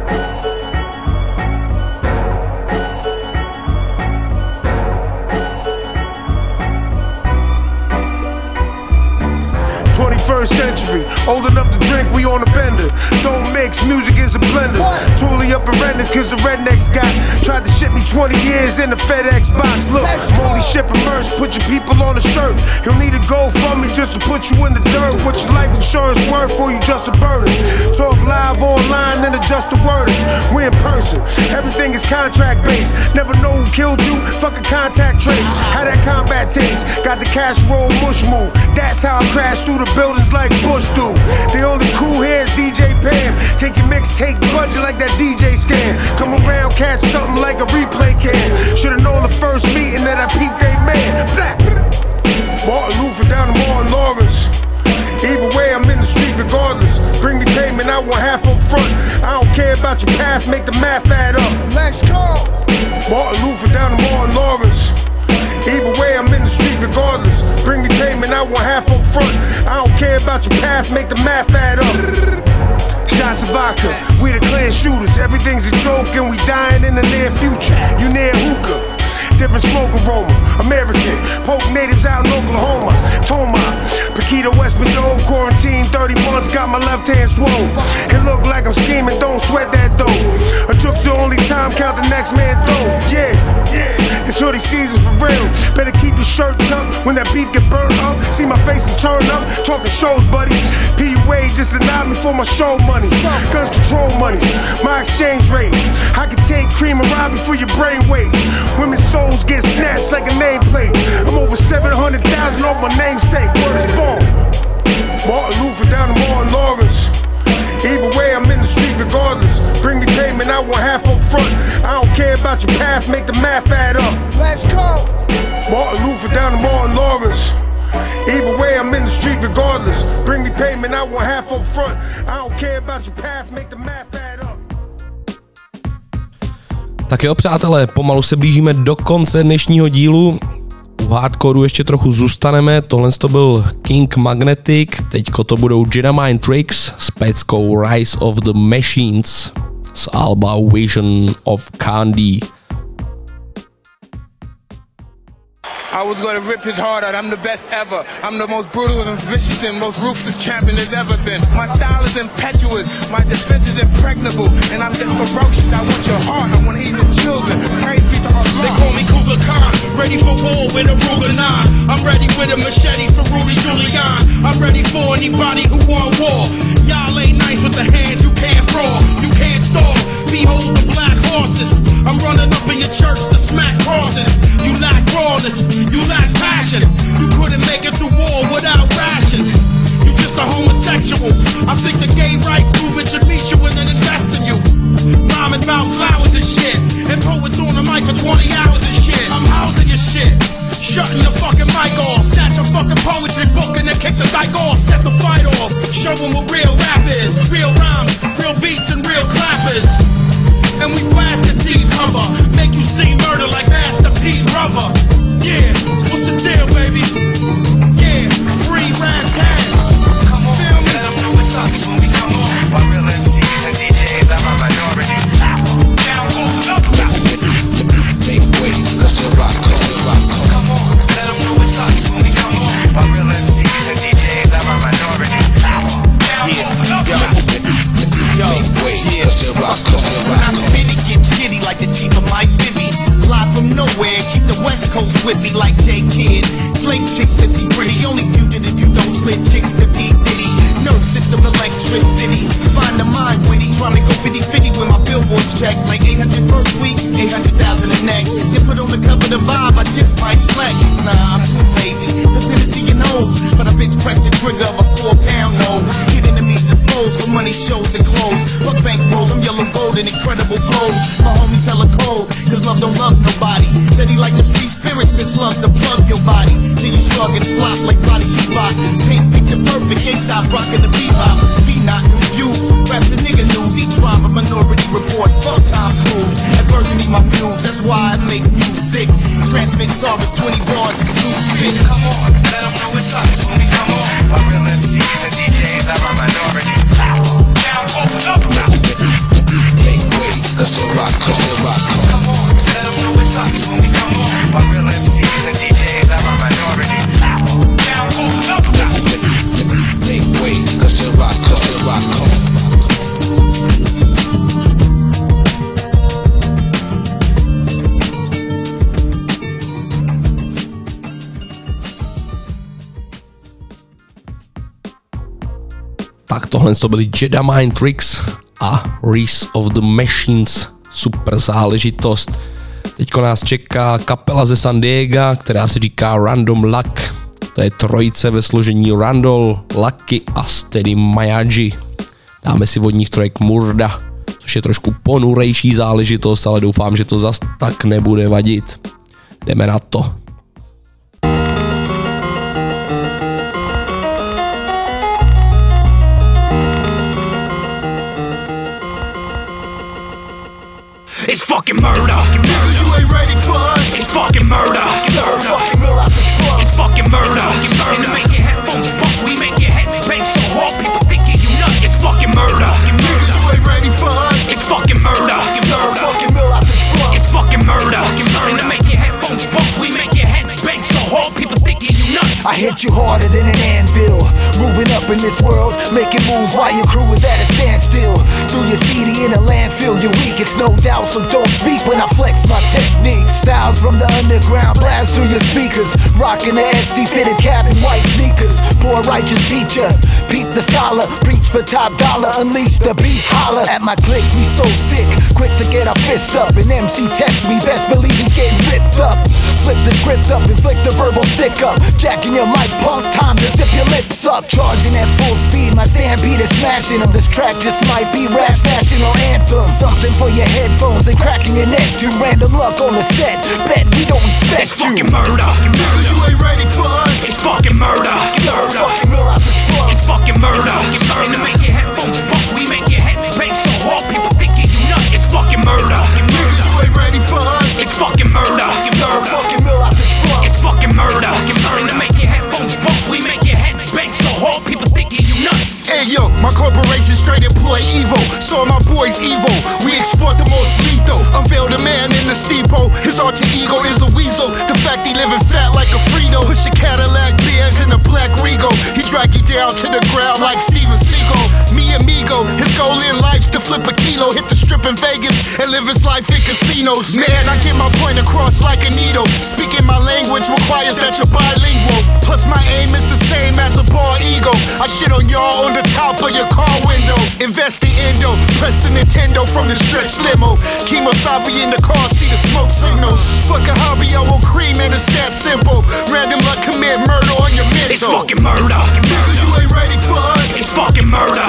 21st century, old enough to drink, we on a bender. Don't mix, music is a blender. Totally up in redness cause the rednecks got tried to ship me 20 years in the FedEx box. Look, I'm only shipping merch, put your people on a shirt. You'll need a GoFundMe just to put you in the dirt. What your life insurance worth for you just a burden. Talk live online, then adjust the wording. We in person, everything is contract based. Never know who killed you, fucking contact trace. How that combat taste, got the casserole mush move. That's how I crash through the buildings like Bush do. The only cool here is DJ Pam. Take your mixtape budget like that DJ scam. Come around, catch something like a replay cam. Should've known the first meeting that I peeped they man. Black. Martin Luther down to Martin Lawrence. Either way, I'm in the street regardless. Bring me payment, I want half up front. I don't care about your path, make the math add up. Let's go. Martin Luther down to Martin Lawrence. Either way, I'm in the street regardless. Bring me payment, I want half up front. I don't care about your path, make the math add up. Shots of vodka, we the clear shooters. Everything's a joke and we dying in the near future. You near hookah. Different smoke aroma, American, poke natives out in Oklahoma, Toma, Paquito, West Meadow, quarantine 30 months, got my left hand swole. It look like I'm scheming, don't sweat that though. A joke's the only time, count the next man though. Yeah, it's hoodie season for real. Better keep your shirt tucked when that beef get burnt up. See my my face and turn up, talking shows, buddy. PUA just denied me for my show money. Guns control money, my exchange rate. I can take cream and rob you for your brain weight. Women's souls get snatched like a nameplate. I'm over 700,000 off my namesake. Word is born. Martin Luther down to Martin Lawrence. Either way, I'm in the street regardless. Bring me payment, I want half up front. I don't care about your path, make the math add up. Let's go. Martin Luther down to Martin Lawrence. Either way, I'm in the street regardless. Bring me payment, I want half up front. I don't care about your path, make the math add up. Tak jo, přátelé, pomalu se blížíme do konce dnešního dílu. U hardcoreu ještě trochu zůstaneme, tohle to byl King Magnetic, teďko to budou Jedi Mind Tricks s peckou Rise of the Machines z alba Vision of Candy. I was gonna rip his heart out, I'm the best ever. I'm the most brutal and vicious and most ruthless champion there's ever been. My style is impetuous, my defense is impregnable, and I'm just ferocious. I want your heart, I wanna eat your children. Praise be to Allah. They call me Kublai Khan, ready for war with a Ruger 9. I'm ready with a machete for Rudy Giuliani. I'm ready for anybody who want war. Y'all ain't nice with the hands, you can't brawl, you can't stall. Behold the black horses, I'm running up in your church to smack crosses. You lack rawness, you lack passion. You couldn't make it through war without rations. You just a homosexual. I think the gay rights movement should meet you and then invest in you. Rhyming about flowers and shit, and poets on the mic for 20 hours and shit. I'm housing your shit, shutting your fucking mic off. Snatch a fucking poetry book and then kick the dyke off. Set the fight off, show them what real rap is. Real rhymes, real beats and real clappers. And we blast the deep cover, make you see murder like Master P's brother. Yeah, what's the deal, baby? Yeah, free Raz Cash. Come on, feel me? Let them know it's us when we come on. By real MCs and DJs, I'm a minority. Down goes another rap. Make way, cause you rock, Come on, let them know it's us when we come on. By real MCs and DJs, I'm a minority. Down goes another rap. Yo, when I spit it, get shitty like the teeth of Mike Bibby. Fly from nowhere, keep the West Coast with me like J Kidd. Slate chicks if she pretty, only fugitive you don't slit chicks to P Diddy. Nerve system electricity, spine to mind witty, trying to go 50-50 with my billboards check. Like 800 first week, 800,000 the next. You put on the cover the vibe, I just might flex. Nah, I'm too lazy, the Tennessee and hoes, but a bitch pressed the trigger of a 4-pound note. Hit enemies and foes for money, shows and clothes. Fuck bank rolls, I'm yellow gold and incredible flows. My homies hella cold, cause love don't love nobody. Said he like the free spirits, bitch loves to plug your body. Till you shrug and flop like Roddy T-Rock. Paint picture perfect, A$AP rockin' the bebop. Be not confused, rap the nigga news. Each rhyme a minority report, fuck Tom Cruise. Adversity my muse, that's why I make music. Transmit Sarvis, 20 bars, it's new spit. Come on, let them know it's us when we come on. By real MCs and DJs, I'm a minority. Down goes another rap. Make way, cause you rock, Come on, let them know it's us when we come on. By real MCs and DJs, I'm a minority. Down goes another rap. Make way, cause you rock, Tak tohle to byly Jedi Mind Tricks a Rise of the Machines. Super záležitost. Teďko nás čeká kapela ze San Diega, která se říká Random Luck. To je trojice ve složení Randall, Lucky a Steady Mayaji. Dáme si od nich track Murda, což je trošku ponurejší záležitost, ale doufám, že to zas tak nebude vadit. Jdeme na to. It's fucking murder. You ain't ready for us. It's fucking murder. It's fucking murder. And to make your headphones bump, we make your heads bang so hard people thinking you nuts. It's fucking murder. You ain't ready for us. It's fucking murder. It's fucking murder. And to make your headphones bump, we make your heads bang so hard people thinking you nuts. I hit you harder than an anvil. Moving up in this world, making moves while your crew is at a standstill. Through your CD in a landfill, you're weak, it's no doubt, so don't speak when I flex my technique. Styles from the underground blast through your speakers. Rocking the SD fitted cap and white sneakers. for a righteous teacher. Peep the scholar, preach for top dollar, unleash the beast, holler. At my clique, we so sick, quick to get our fists up. An MC test me, best believe he's getting ripped up. Flip the script up, inflict the verbal stick up. Jacking your mic, punk, time to zip your lips up. Charging at full speed, my stampede is smashing them. This track just might be rap's national anthem. Something for your headphones and cracking your neck. Too random luck on the set, bet we don't respect it's you. It's fucking murder. Nigga, you ain't ready for us. It's fucking murder. It's fucking murder. And to make your headphones bump, we make your heads bang so hard people thinking you nuts. It's fucking murder. Nigga, you ain't ready for us. It's fucking murder. It's fucking murder. And to make your headphones bump, we make your heads bang so hard people thinking you nuts. Hey yo, my corporation straight employ evil. So my boys evil. We export the most lethal. Unveil the man in the steeple. His alter ego is a weasel. The fact he living fat like a Frito. Push a Cadillac Benz in a black Regal. He drag you down to the ground like Steven Seagal. Me amigo, his goal in life's to flip a kilo. Hit the strip in Vegas and live his life in casinos. Man, I get my point across like a needle. Speaking my language requires that you're bilingual. Plus my aim is the same as a bald eagle. I shit on y'all on the top of your car window. Invest in Indo, press the Nintendo from the stretch limo. Kemosabe in the car, see the smoke signals. Fuck a hobby, I want cream and it's that simple. Random luck commit murder on your mental. It's fucking murder. Nigga, you ain't ready for us. It's fucking murder.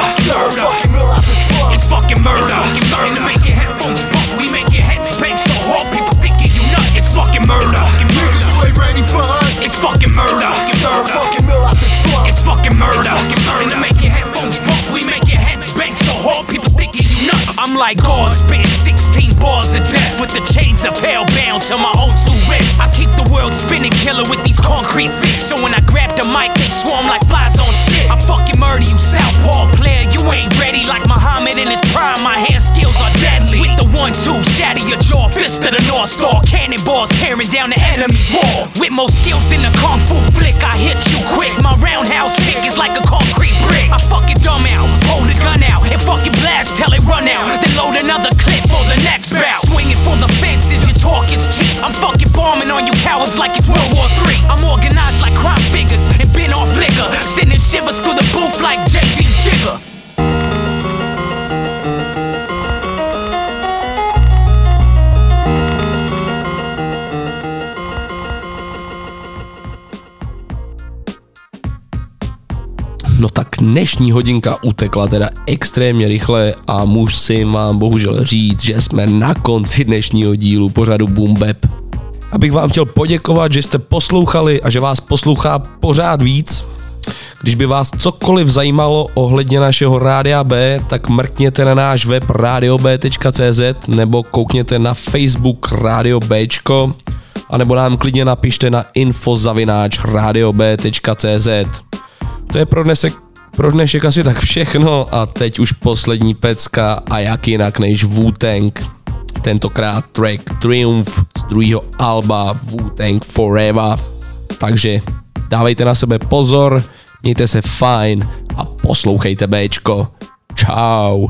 It's fucking murder. And to make your headphones bump, we make your heads bang so hard people thinking you nuts. It's fucking murder. Nigga, you ain't ready for us. It's fucking murder. It's fucking murder. And to make your headphones bump, we make your heads bang so hard people thinking you nuts. I'm like God spitting 16 bars of death with the chains of hell bound to my own two wrists. I keep the world spinning killer with these concrete fists. So when I grab the mic, they swarm like flies on shit. I fucking murder you, southpaw player. You ain't ready like Muhammad in his prime. My hand skills are deadly. With the 1-2, shatter your jaw, fist of the North Star. Cannonballs tearing down the enemy's wall. With more skills than a kung fu flick, I hit you quick. My roundhouse kick is like a concrete brick. I fucking dumb out, hold the gun out, and fucking blast till it run out. Then load another clip for the next bout. Swinging for the fences, your talk is cheap. I'm fucking bombing on you cowards like it's World War III. I'm organized like crime figures and been off liquor, sending shivers through the booth like Jay-Z's Jigger. No tak dnešní hodinka utekla teda extrémně rychle a musím vám bohužel říct, že jsme na konci dnešního dílu pořadu Boom Bap. Abych vám chtěl poděkovat, že jste poslouchali a že vás poslouchá pořád víc. Když by vás cokoliv zajímalo ohledně našeho Rádia B, tak mrkněte na náš web radiob.cz nebo koukněte na Facebook Radio Bčko, anebo nám klidně napište na info@radiob.cz. To je pro dnešek asi tak všechno a teď už poslední pecka a jak jinak než Wu-Tang. Tentokrát track Triumph z druhého alba Wu-Tang Forever. Takže dávejte na sebe pozor, mějte se fajn a poslouchejte Bčko. Čau.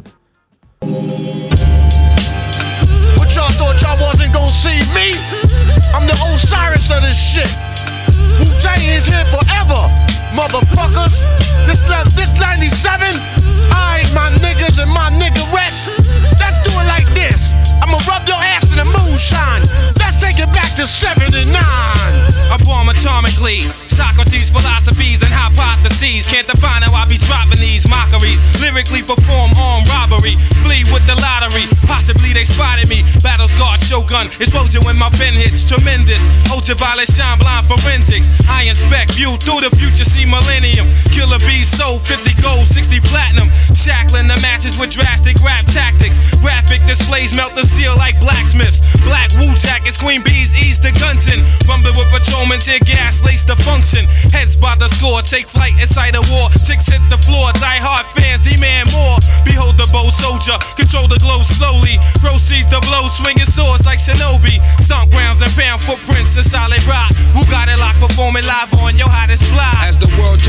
What y'all thought y'all wasn't gonna see me? I'm the Osiris of this shit. Wu-Tang is here forever, motherfuckers. This 97, I ain't my niggas and my niggerettes. Let's do it like this. I'ma rub your ass in the moonshine. Let's take it back to 79. I bomb atomically. Socrates' philosophies and hypotheses. Can't define how I be dropping these mockeries. Lyrically perform armed robbery. Flee with the lottery. Possibly they spotted me. Battle scarred shogun. Explosion when my pen hits. Tremendous. Ultraviolet shine blind forensics. I inspect view through the future. See millennium. Killer bees sold 50 gold, 60 platinum. Shackling the matches with drastic rap tactics. Graphic displays melt the steel like blacksmiths. Black Wu jackets. Queen bees ease the Gunson. Rumbling with patrolmen. Tear gas lace the function. Heads by the score. Take flight inside a war. Ticks hit the floor. Die hard fans demand more. Behold the bold soldier. Control the glow slowly. Proceeds the blow. Swinging swords like Shinobi. Stomp grounds and pound footprints in solid rock. Who got it locked? Performing live on your hottest fly. As the world turns, I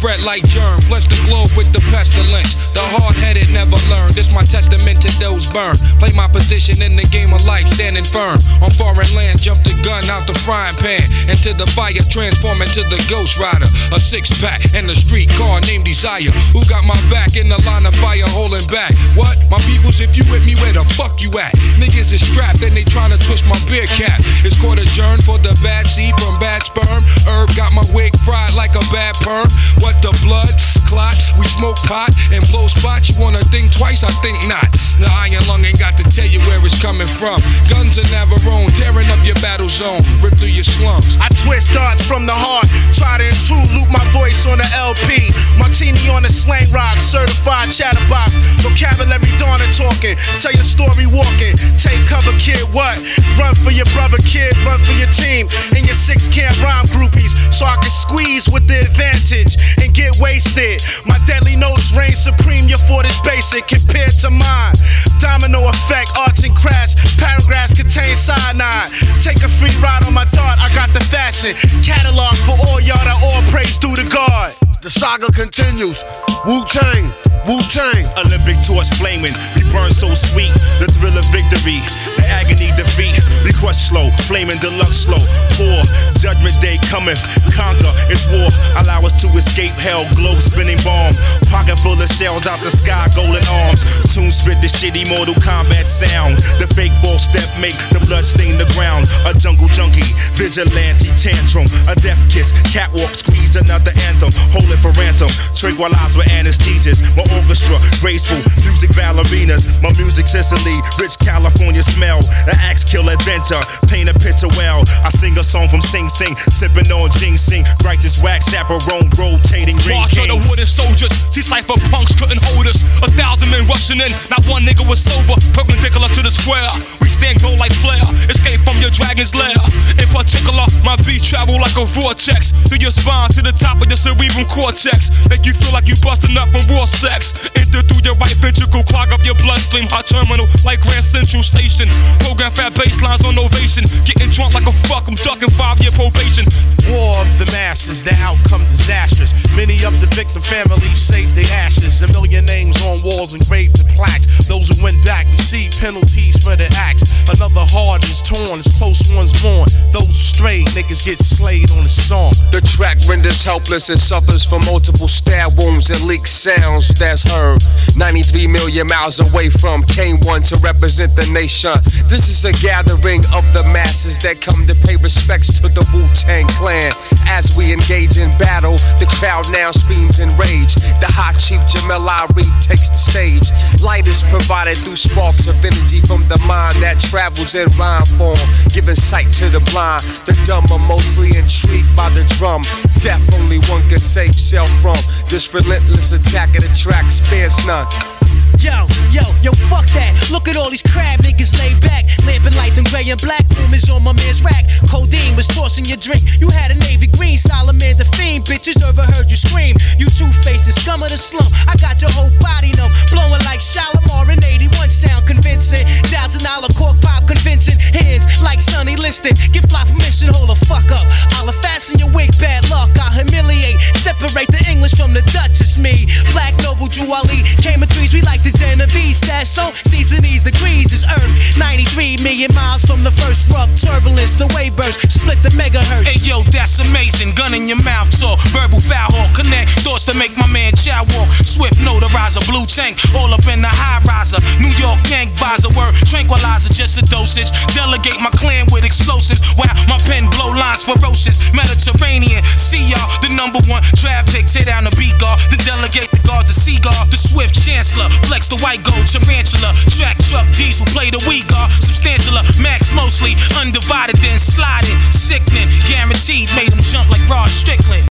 spread like germ. Bless the globe with the pestilence. The hard-headed never learn. This my testament to those burned. Play my position in the game of life, standing firm. On foreign land, jump the gun out the frying pan. Into the fire, transform into the Ghost Rider. A six-pack and a street car named Desire. Who got my back in the line of fire holding back? What? My peoples, if you with me, where the fuck you at? Niggas is strapped and they tryna twist my beer cap. It's court adjourned for the bad seed from bad sperm. Herb got my wig fried like a bad perm. What the blood? Clots, we smoke pot and blow spots. You wanna think twice? I think not. The iron lung ain't got to tell you where it's coming from. Guns are never own, tearing up your battle zone. Rip through your slums. I twist darts from the heart. Try to intrude, loop my voice on the LP. Martini on the slang rock, certified chatterbox. Vocabulary Donna talking, tell your story walking. Take cover, kid, what? Run for your brother, kid, run for your team. And your six can't rhyme groupies, so I can squeeze with the advantage and get wasted. My deadly notes reign supreme, your fort is basic compared to mine. Domino effect, arts and crafts, paragraphs contain cyanide. Take a free ride on my dart, I got the fashion. Catalog for all y'all that all praise due to God. The saga continues. Wu-Tang, Wu-Tang. Olympic torch flaming, we burn so sweet. The thrill of victory, the agony defeat. We crush slow, flaming deluxe slow. Poor, judgment day cometh, conquer, it's war. Allow us to escape hell, globe spinning bomb. Pocket full of shells out the sky, golden arms. Soon spit the shitty Mortal Kombat sound. The fake false step make the blood stain the ground. A jungle junkie, vigilante tantrum. A death kiss, catwalk squeeze another anthem. Hold it for ransom, tranquilize with anesthesias. My orchestra, graceful, music ballerinas. My music Sicily, rich California smell. An axe kill adventure, paint a picture well. I sing a song from Sing Sing, sipping on ginseng. Righteous wax chaperone, rotating ring March of the wooden soldiers, see cypher punks couldn't hold us. 1,000 men rushing in, not one nigga was sober. Perpendicular to the square, we stand gold like flare. Escape from your dragon's lair. In particular, my beats travel like a vortex through your spine to the top of your cerebral cortex. Make you feel like you busting up from raw sex. Enter through your right ventricle, clog up your bloodstream. Hot terminal like Grand Central Station. Program fat baselines on ovation. Getting drunk like a fuck, I'm ducking 5-year probation. War of the masses, the outcome disastrous. Many of the victim families saved their ashes. A million names on walls engraved in plaques. Those who went back received penalties for their acts. Another heart is torn as close ones mourn. Those who strayed, niggas get slayed on the song. The track renders helpless and suffers from multiple stab wounds and leaked sounds that's heard 93 million miles away from came one to represent the nation. This is a gathering of the masses that come to pay respects to the Wu-Tang Clan. As we engage in battle, the crowd now screams in rage. The hot chief Jamel Ari takes the stage. Light is provided through sparks of energy from the mind that travels in rhyme form, giving sight to the blind. The dumb are mostly intrigued by the drum. Death only one can save self from. This relentless attack of the track spares none. Yo, fuck that. Look at all these crab niggas laid back. Lamping light and gray and black. Room is on my man's rack. Codeine was tossing your drink. You had a navy green. Salamander fiend. Bitches overheard you scream. You two-faced scum of the slum. I got your whole body numb. Blowing like Shalimar in 81 sound convincing. $1,000 cork pop convincing. Hands like Sonny Liston. Give fly permission, hold the fuck up. I'll fasten your wig, bad luck. I'll humiliate. Separate the English from the Dutch. It's me. Black Noble Juwali. Came in threes. We like the Genovese, says so. Season these degrees is Earth. 93 million miles from the first rough turbulence. The wave burst, split the megahertz. Hey yo, that's amazing. Gun in your mouth talk. Verbal foul hawk. Connect thoughts to make my man chow walk. Swift notarizer, blue tank. All up in the high riser. New York gang visor. Word tranquilizer, just a dosage. Delegate my clan with explosives. Wow, my pen blow lines ferocious. Mediterranean. See y'all, the #1 traffic. Tear down the B-guard. The delegate the guard, the Seagull. The swift chancellor. Flex the white gold tarantula. Track truck diesel. Play the Uyghur. Substantialer. Max mostly. Undivided then sliding. Sickening. Guaranteed. Made him jump like Rod Strickland.